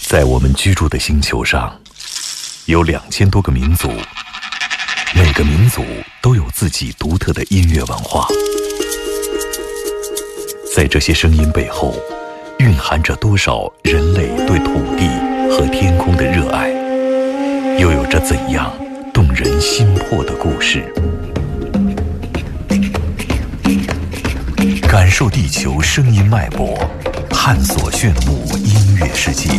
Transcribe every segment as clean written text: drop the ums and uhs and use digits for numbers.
在我们居住的星球上，有2000多个民族，每个民族都有自己独特的音乐文化。在这些声音背后，蕴含着多少人类对土地和天空的热爱，又有着怎样动人心魄的故事。感受地球声音脉搏，探索炫目音乐世界。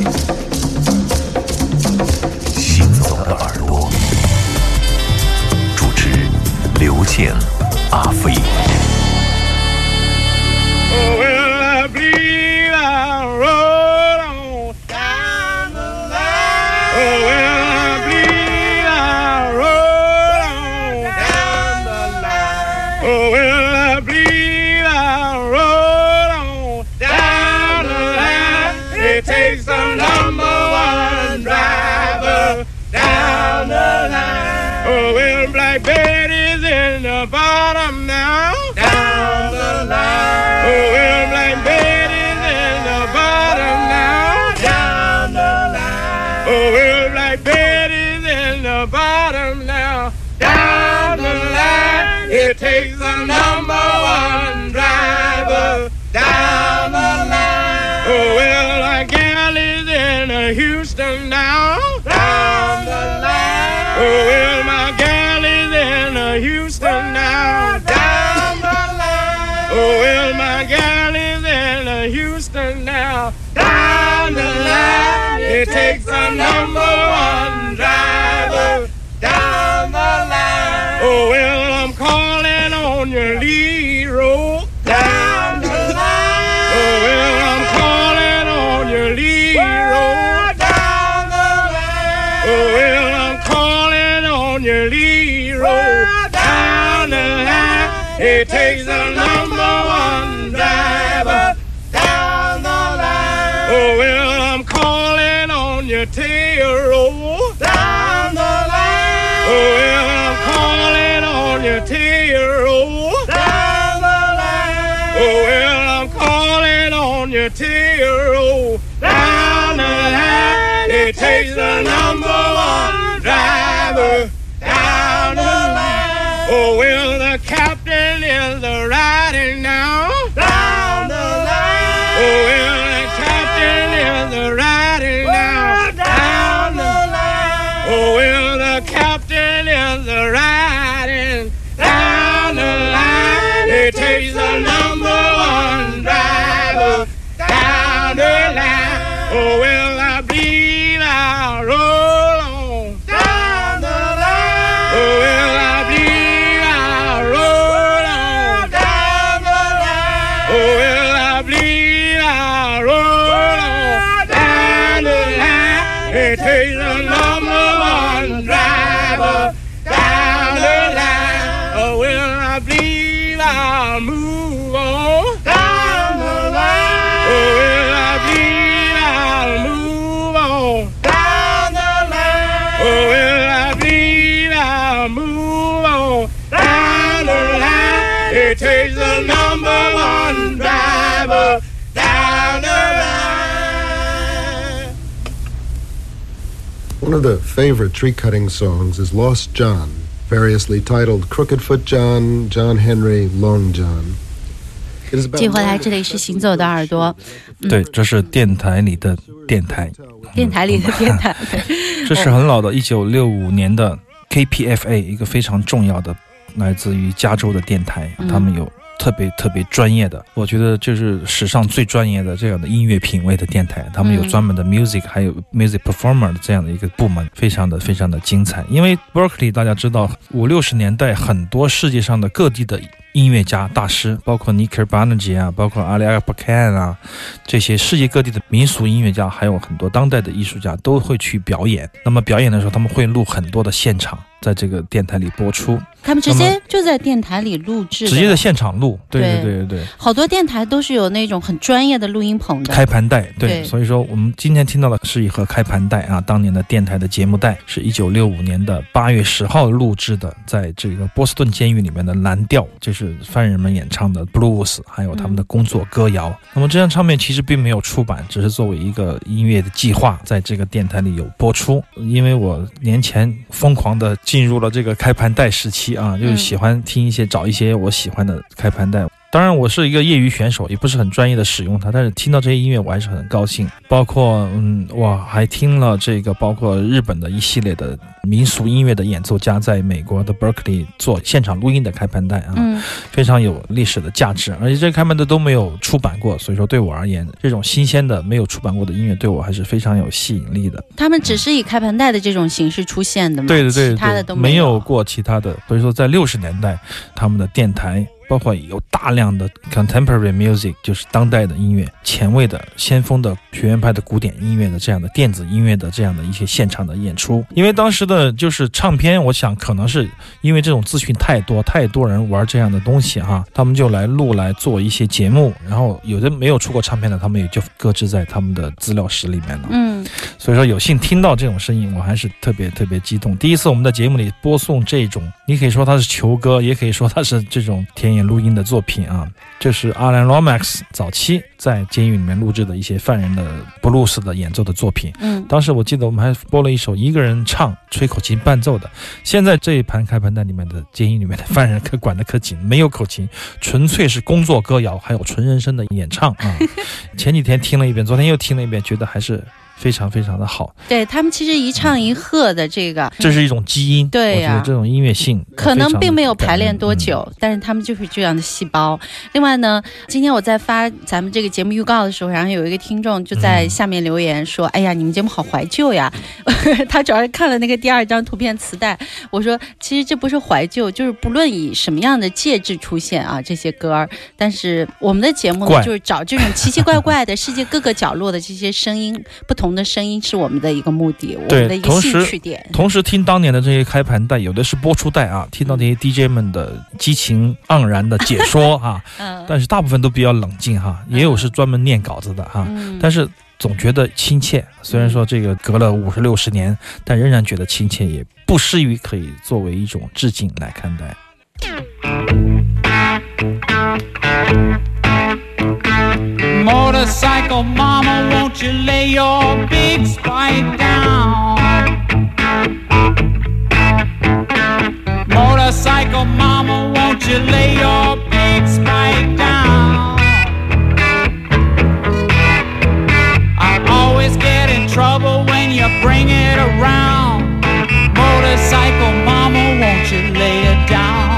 行走的耳朵，主持刘健、阿飞。 Bottom now, down the line. Oh, well, Black Betty's in the bottom now, down the line. Oh, well, Black Betty's in the bottom now, down the line. It takes a #1 driver down the line. Oh, well, like gal is in Houston now, down the line. Oh, well, my gal is in Houston now, down the line. Oh, well, my gal is in Houston now, down the line. It takes a #1 driver down the line. Oh, well, I'm calling on your Leroy down the line. Oh, well, I'm calling on your Leroy down the line. Oh, well, I'm calling on your Leroy. It takes a #1 driver down the line. Oh, well, I'm calling on your Taro down the line. Oh, well, I'm calling on your Taro down the line. Oh, well, I'm calling on your Taro down the line. It takes a #1 driver down the line. Oh, well, the captain is riding now down the line. Oh, well, the captain is riding now down the line. Oh, well, the captain is riding down the line. It takes a #1 driver down the line. Oh, well, I believe I'll roll on down the line. Oh, well, I believe I'll roll on down the line. Oh, well, I believe I'll roll on down the line. It takes a #1 driver down the line. Oh, well, I believe I'll move on down the line. Oh, well, I believe I'll move on down the line. Oh, well, I believe I'll move on down the line. It takes a #1 driver down the line. One of the favorite tree-cutting songs is Lost John, variously titled Crooked-Foot John, John Henry, Long John. 接回来，这里是行走的耳朵。 对，这是电台里的电台， 电台里的电台。 这是很老的1965年的 KPFA， 一个非常重要的来自于加州的电台，他们有特别专业的，我觉得就是史上最专业的这样的音乐品味的电台，他们有专门的 music 还有 music performer 的这样的一个部门，非常的精彩。因为 Berkeley 大家知道50-60年代很多世界上的各地的音乐家大师，包括 Nick Barnage 啊，包括 Ali Akbarkhan 啊，这些世界各地的民俗音乐家，还有很多当代的艺术家都会去表演。那么表演的时候他们会录很多的现场， 在这个电台里播出。 他们直接就在电台里录制的， 直接在现场录。对， 好多电台都是有那种很专业的录音棚的开盘带。对，所以说我们今天听到的是一盒开盘带啊，当年的电台的节目带是1965年的8月10号录制的，在这个波士顿监狱里面的蓝调，就是犯人们演唱的 blues， 还有他们的工作歌谣。那么这张唱片其实并没有出版，只是作为一个音乐的计划在这个电台里有播出。因为我年前疯狂的进入了这个开盘带时期啊，就是喜欢听一些找一些我喜欢的开盘带。当然我是一个业余选手，也不是很专业的使用它，但是听到这些音乐我还是很高兴。包括我还听了这个包括日本的一系列的民俗音乐的演奏家在美国的 Berkeley 做现场录音的开盘带啊，非常有历史的价值，而且这个开盘带都没有出版过，所以说对我而言，这种新鲜的没有出版过的音乐对我还是非常有吸引力的。 他们只是以开盘带的这种形式出现的吗？ 对， 其他的都没有过其他的。所以说在60年代他们的电台包括有大量的 contemporary music， 就是当代的音乐，前卫的先锋的学院派的古典音乐的这样的电子音乐的这样的一些现场的演出。因为当时的就是唱片，我想可能是因为这种资讯太多人玩这样的东西哈，他们就来录来做一些节目，然后有的没有出过唱片的他们也就搁置在他们的资料室里面了。所以说有幸听到这种声音我还是特别激动。第一次我们的节目里播送这种，你可以说它是球歌，也可以说它是这种田野录音的作品啊。这是 Alan Lomax 早期在监狱里面录制的一些犯人的布鲁斯的演奏的作品。当时我记得我们还播了一首一个人唱吹口琴伴奏的。现在这一盘开盘带里面的监狱里面的犯人可管得可紧，没有口琴，纯粹是工作歌谣，还有纯人声的演唱啊。前几天听了一遍，昨天又听了一遍，觉得还是非常的好。 对，他们其实一唱一和的这是一种基因。 对呀， 我觉得这种音乐性可能并没有排练多久，但是他们就是这样的细胞。另外呢，今天我在发咱们这个节目预告的时候，然后有一个听众就在下面留言说，哎呀，你们节目好怀旧呀。他主要是看了那个第2张图片磁带。我说其实这不是怀旧，就是不论以什么样的介质出现啊，这些歌，但是我们的节目呢，就是找这种奇奇怪怪的世界各个角落的这些声音，不同的声音是我们的一个目的，我们的一个兴趣点。 同时听当年的这些开盘带，有的是播出带啊，听到那些 DJ 们的激情盎然的解说啊，但是大部分都比较冷静哈，也有是专门念稿子的哈，但是总觉得亲切。虽然说这个隔了50、60年，但仍然觉得亲切，也不失于可以作为一种致敬来看待。 Motorcycle mama, won't you lay your big spike down? Motorcycle mama, won't you lay your big spike down? I always get in trouble when you bring it around. Motorcycle mama, won't you lay it down?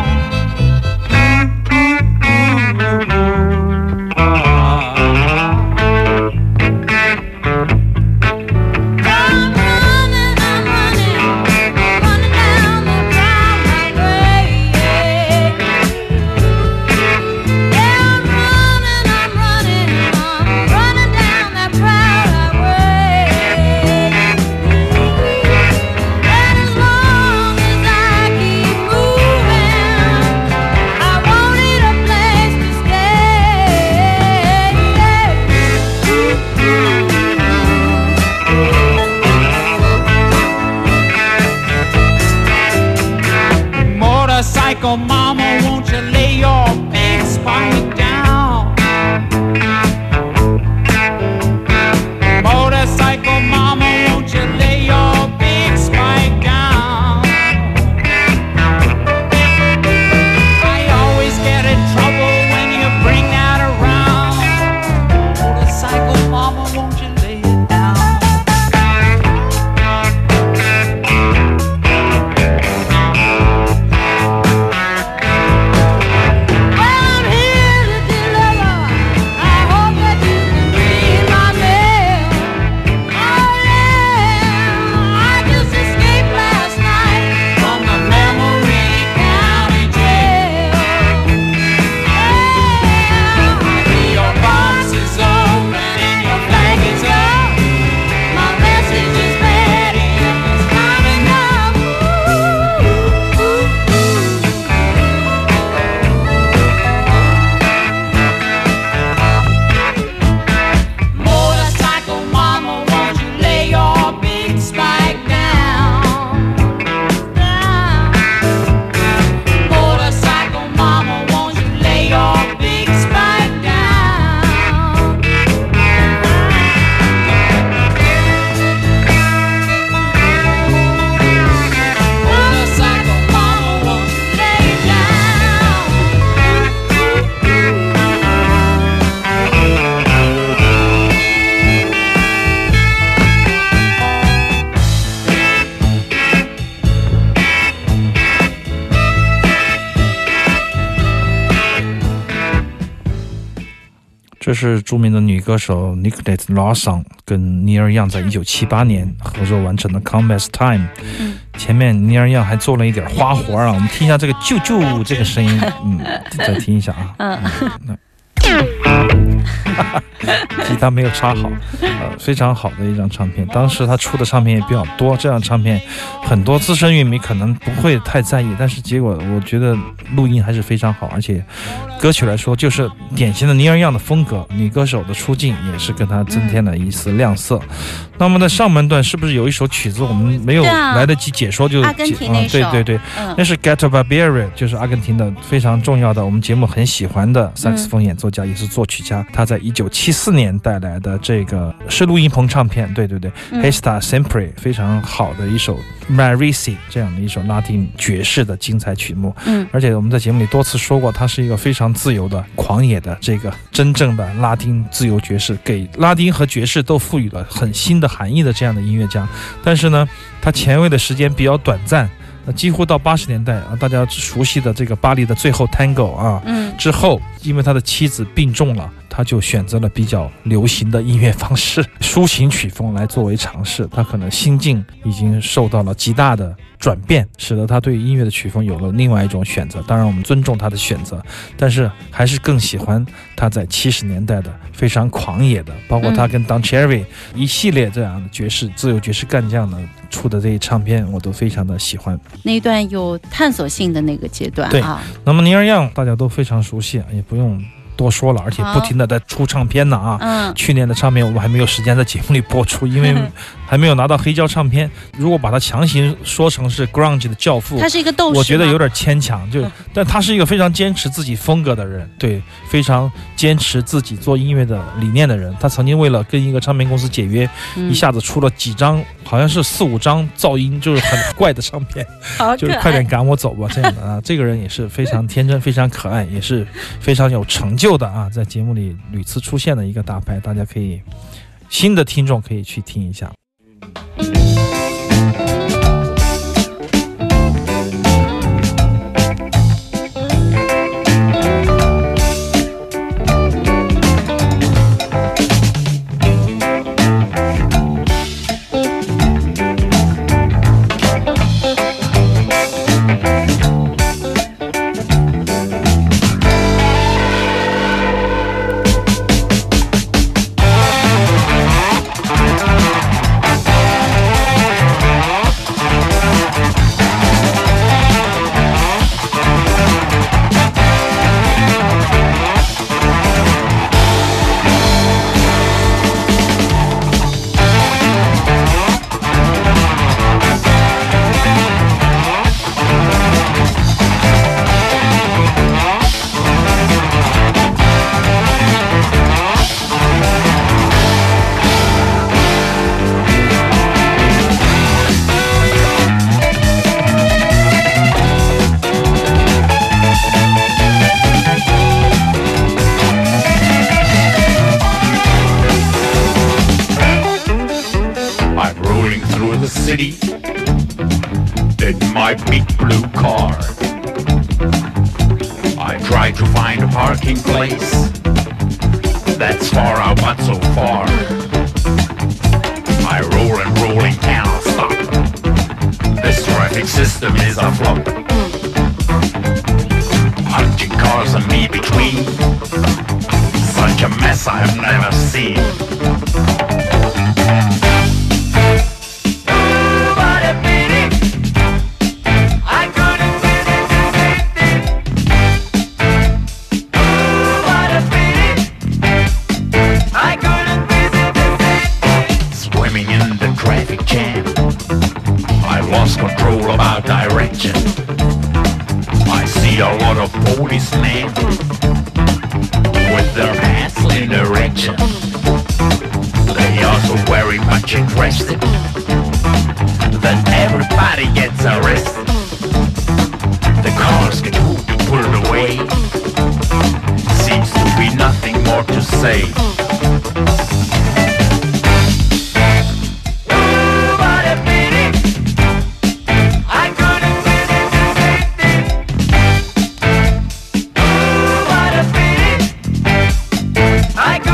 这是著名的女歌手 Nicolette Lawson 跟尼尔·杨在1978年合作完成的 Combat Time。前面尼尔·杨还做了一点花活啊，我们听一下这个啾啾这个声音，再听一下啊。吉他没有插好，非常好的一张唱片。当时他出的唱片也比较多，这张唱片很多资深乐迷可能不会太在意，但是结果我觉得录音还是非常好，而且歌曲来说就是典型的尼尔·杨的风格，女歌手的出镜也是跟他增添了一丝亮色。那么在上半段是不是有一首曲子我们没有来得及解说就阿根廷那首对，那是 Gato Barbieri， 就是阿根廷的非常重要的我们节目很喜欢的萨克斯风演奏家，也是作曲家。他在1974年带来的这个是录音棚唱片，对，Hesta Sempre 非常好的一首 Marisi 这样的一首拉丁爵士的精彩曲目。而且我们在节目里多次说过，他是一个非常自由的狂野的这个真正的拉丁自由爵士，给拉丁和爵士都赋予了很新的含义的这样的音乐家。但是呢，他前卫的时间比较短暂，几乎到80年代啊，大家熟悉的这个巴黎的最后 Tango 啊，之后因为他的妻子病重了，他就选择了比较流行的音乐方式，抒情曲风来作为尝试。他可能心境已经受到了极大的转变，使得他对音乐的曲风有了另外一种选择。当然我们尊重他的选择，但是还是更喜欢他在70年代的非常狂野的，包括他跟 Don Cherry 一系列这样的爵士自由爵士干将的出的这一唱片，我都非常的喜欢。 那一段有探索性的那个阶段， 对。那么尼尔·杨大家都非常熟悉，也不用多说了，而且不停的在出唱片呢啊。去年的唱片我们还没有时间在节目里播出，因为还没有拿到黑胶唱片。如果把它强行说成是 grunge 的教父， 他是一个斗士， 我觉得有点牵强。但他是一个非常坚持自己风格的人，对，非常坚持自己做音乐的理念的人。他曾经为了跟一个唱片公司解约，一下子出了几张，好像是4-5张噪音就是很怪的唱片，就是快点赶我走吧这样的啊。这个人也是非常天真、非常可爱，也是非常有成就的啊，在节目里屡次出现的一个大牌，大家可以新的听众可以去听一下。 City in my big blue car. I try to find a parking place that's far out but so far. I roll and roll and cannot stop. This traffic system is a flop. 100 cars and me between. Such a mess I have never seen. Policemen with their hats in erection. They are so very much interested that everybody gets arrested. The cars get pulled away. Seems to be nothing more to say. I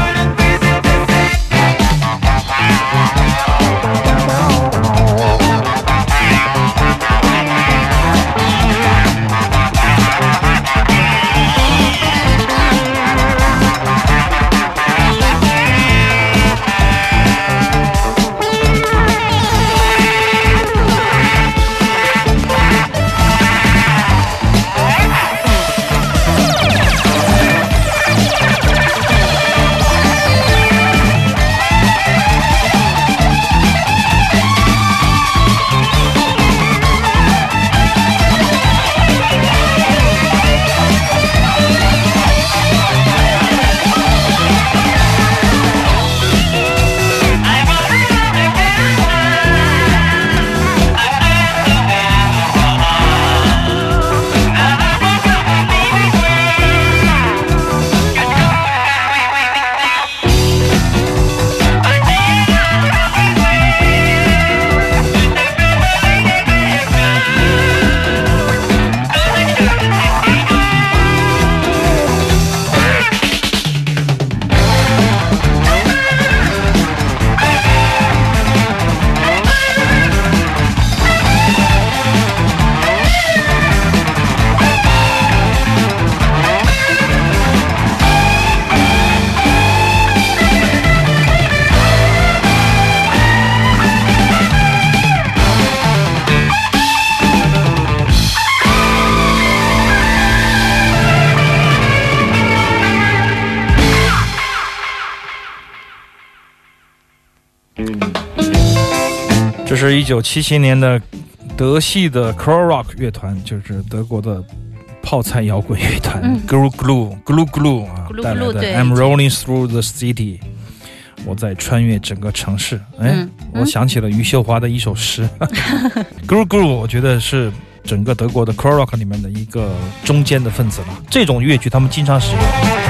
这是1977年的德系的 Crow Rock 乐团，就是德国的泡菜摇滚乐团 Glue Glue 啊带来的 I'm Rolling Through the City， 我在穿越整个城市。我想起了余秀华的一首诗Glue Glue 我觉得是整个德国的 Crow Rock 里面的一个中间的分子了。这种乐曲他们经常使用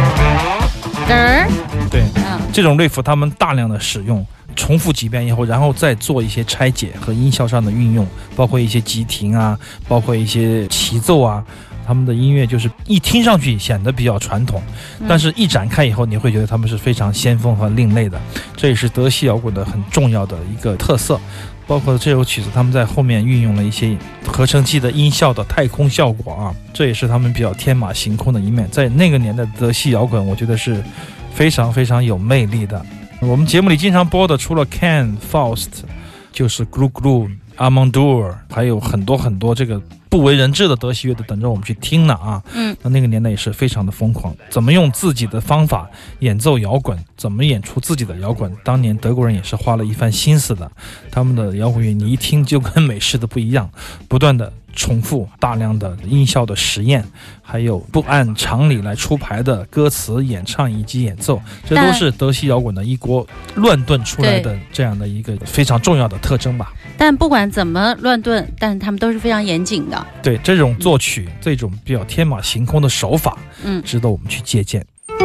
对，这种 riff 他们大量的使用，重复几遍以后，然后再做一些拆解和音效上的运用，包括一些急停啊，包括一些齐奏啊。他们的音乐就是一听上去显得比较传统，但是一展开以后你会觉得他们是非常先锋和另类的，这也是德系摇滚的很重要的一个特色。包括这首曲子他们在后面运用了一些合成器的音效的太空效果啊，这也是他们比较天马行空的一面。在那个年代的德系摇滚我觉得是非常非常有魅力的。我们节目里经常播的除了 Can、Faust 就是 Glue Glue、Amandur， 还有很多很多这个不为人知的德系乐队等着我们去听呢啊。那个年代也是非常的疯狂，怎么用自己的方法演奏摇滚，怎么演出自己的摇滚，当年德国人也是花了一番心思的。他们的摇滚乐你一听就跟美式的不一样，不断的重复，大量的音效的实验，还有不按常理来出牌的歌词演唱以及演奏，这都是德系摇滚的一锅乱炖出来的这样的一个非常重要的特征吧。 但不管怎么乱炖，但他们都是非常严谨的。 对，这种作曲这种比较天马行空的手法值得我们去借鉴。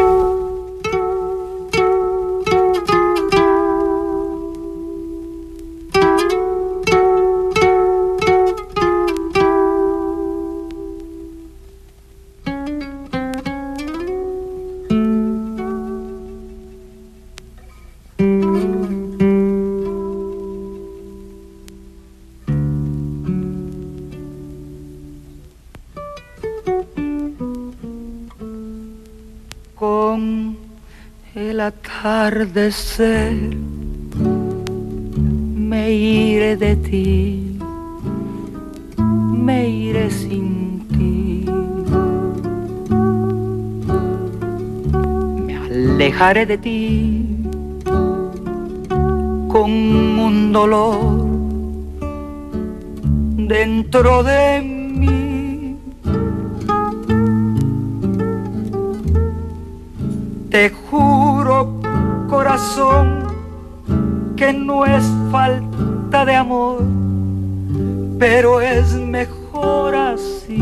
Con el atardecer me iré de ti, me iré sin ti, me alejaré de ti con un dolor dentro de mí. Te juro, corazón, que no es falta de amor, pero es mejor así.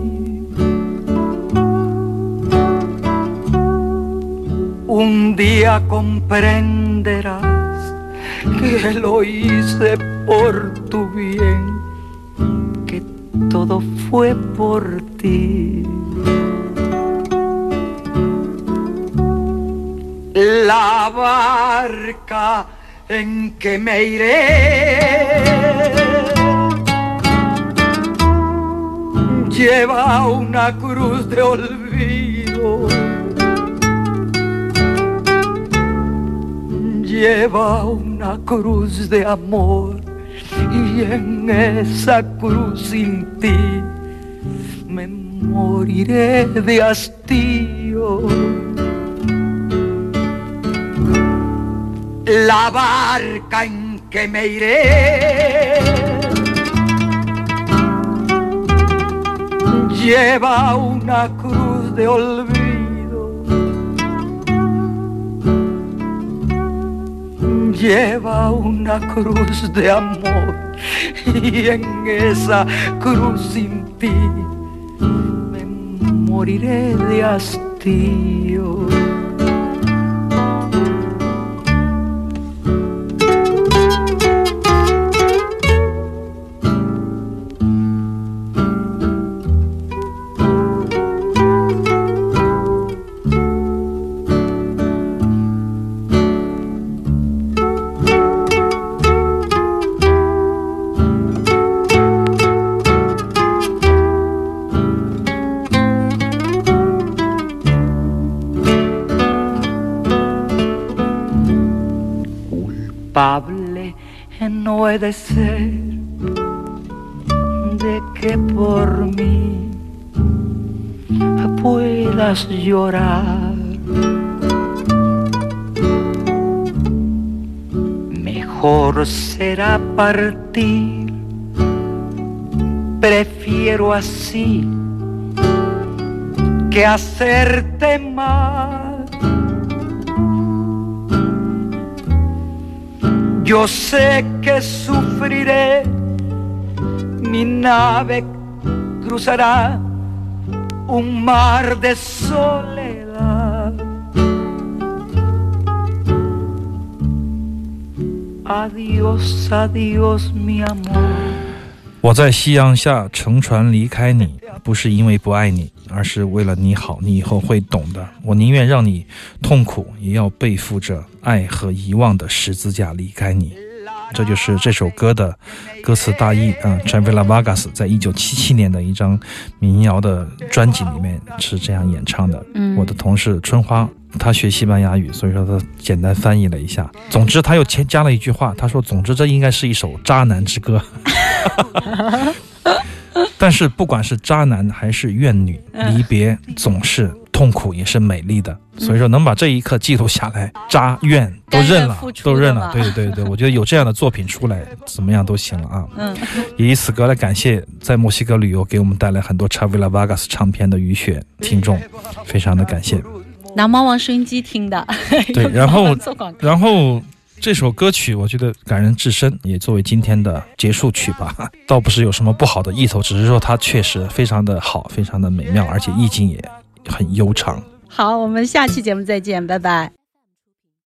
Un día comprenderás que lo hice por tu bien, que todo fue por ti. La barca en que me iré lleva una cruz de olvido, lleva una cruz de amor, y en esa cruz sin ti me moriré de hastío. La barca en que me iré lleva una cruz de olvido, lleva una cruz de amor, y en esa cruz sin ti me moriré de hastío. Culpable no he de ser de que por mí puedas llorar. mejor será partir. Prefiero así que hacerte mal. Yo sé que sufriré, mi nave cruzará un mar de soledad. Adiós, adiós, mi amor。 我在夕阳下乘船离开你，不是因为不爱你，而是为了你好，你以后会懂的。我宁愿让你痛苦，也要背负着爱和遗忘的十字架离开你。这就是这首歌的歌词大意啊。Chavela Vargas 在1977年的一张民谣的专辑里面是这样演唱的。我的同事春花，他学西班牙语，所以说他简单翻译了一下。总之他又加了一句话，他说总之这应该是一首渣男之歌。但是不管是渣男还是怨女，离别总是痛苦也是美丽的，所以说能把这一刻记录下来，渣怨都认了，都认了。对对对，我觉得有这样的作品出来怎么样都行了啊。也以此歌来感谢在墨西哥旅游给我们带来很多 Chavela Vargas 唱片的雨雪听众，非常的感谢。 拿猫王收音机听的。 对，然后这首歌曲我觉得感人至深，也作为今天的结束曲吧，倒不是有什么不好的意头，只是说它确实非常的好，非常的美妙，而且意境也很悠长。 好，我们下期节目再见，拜拜。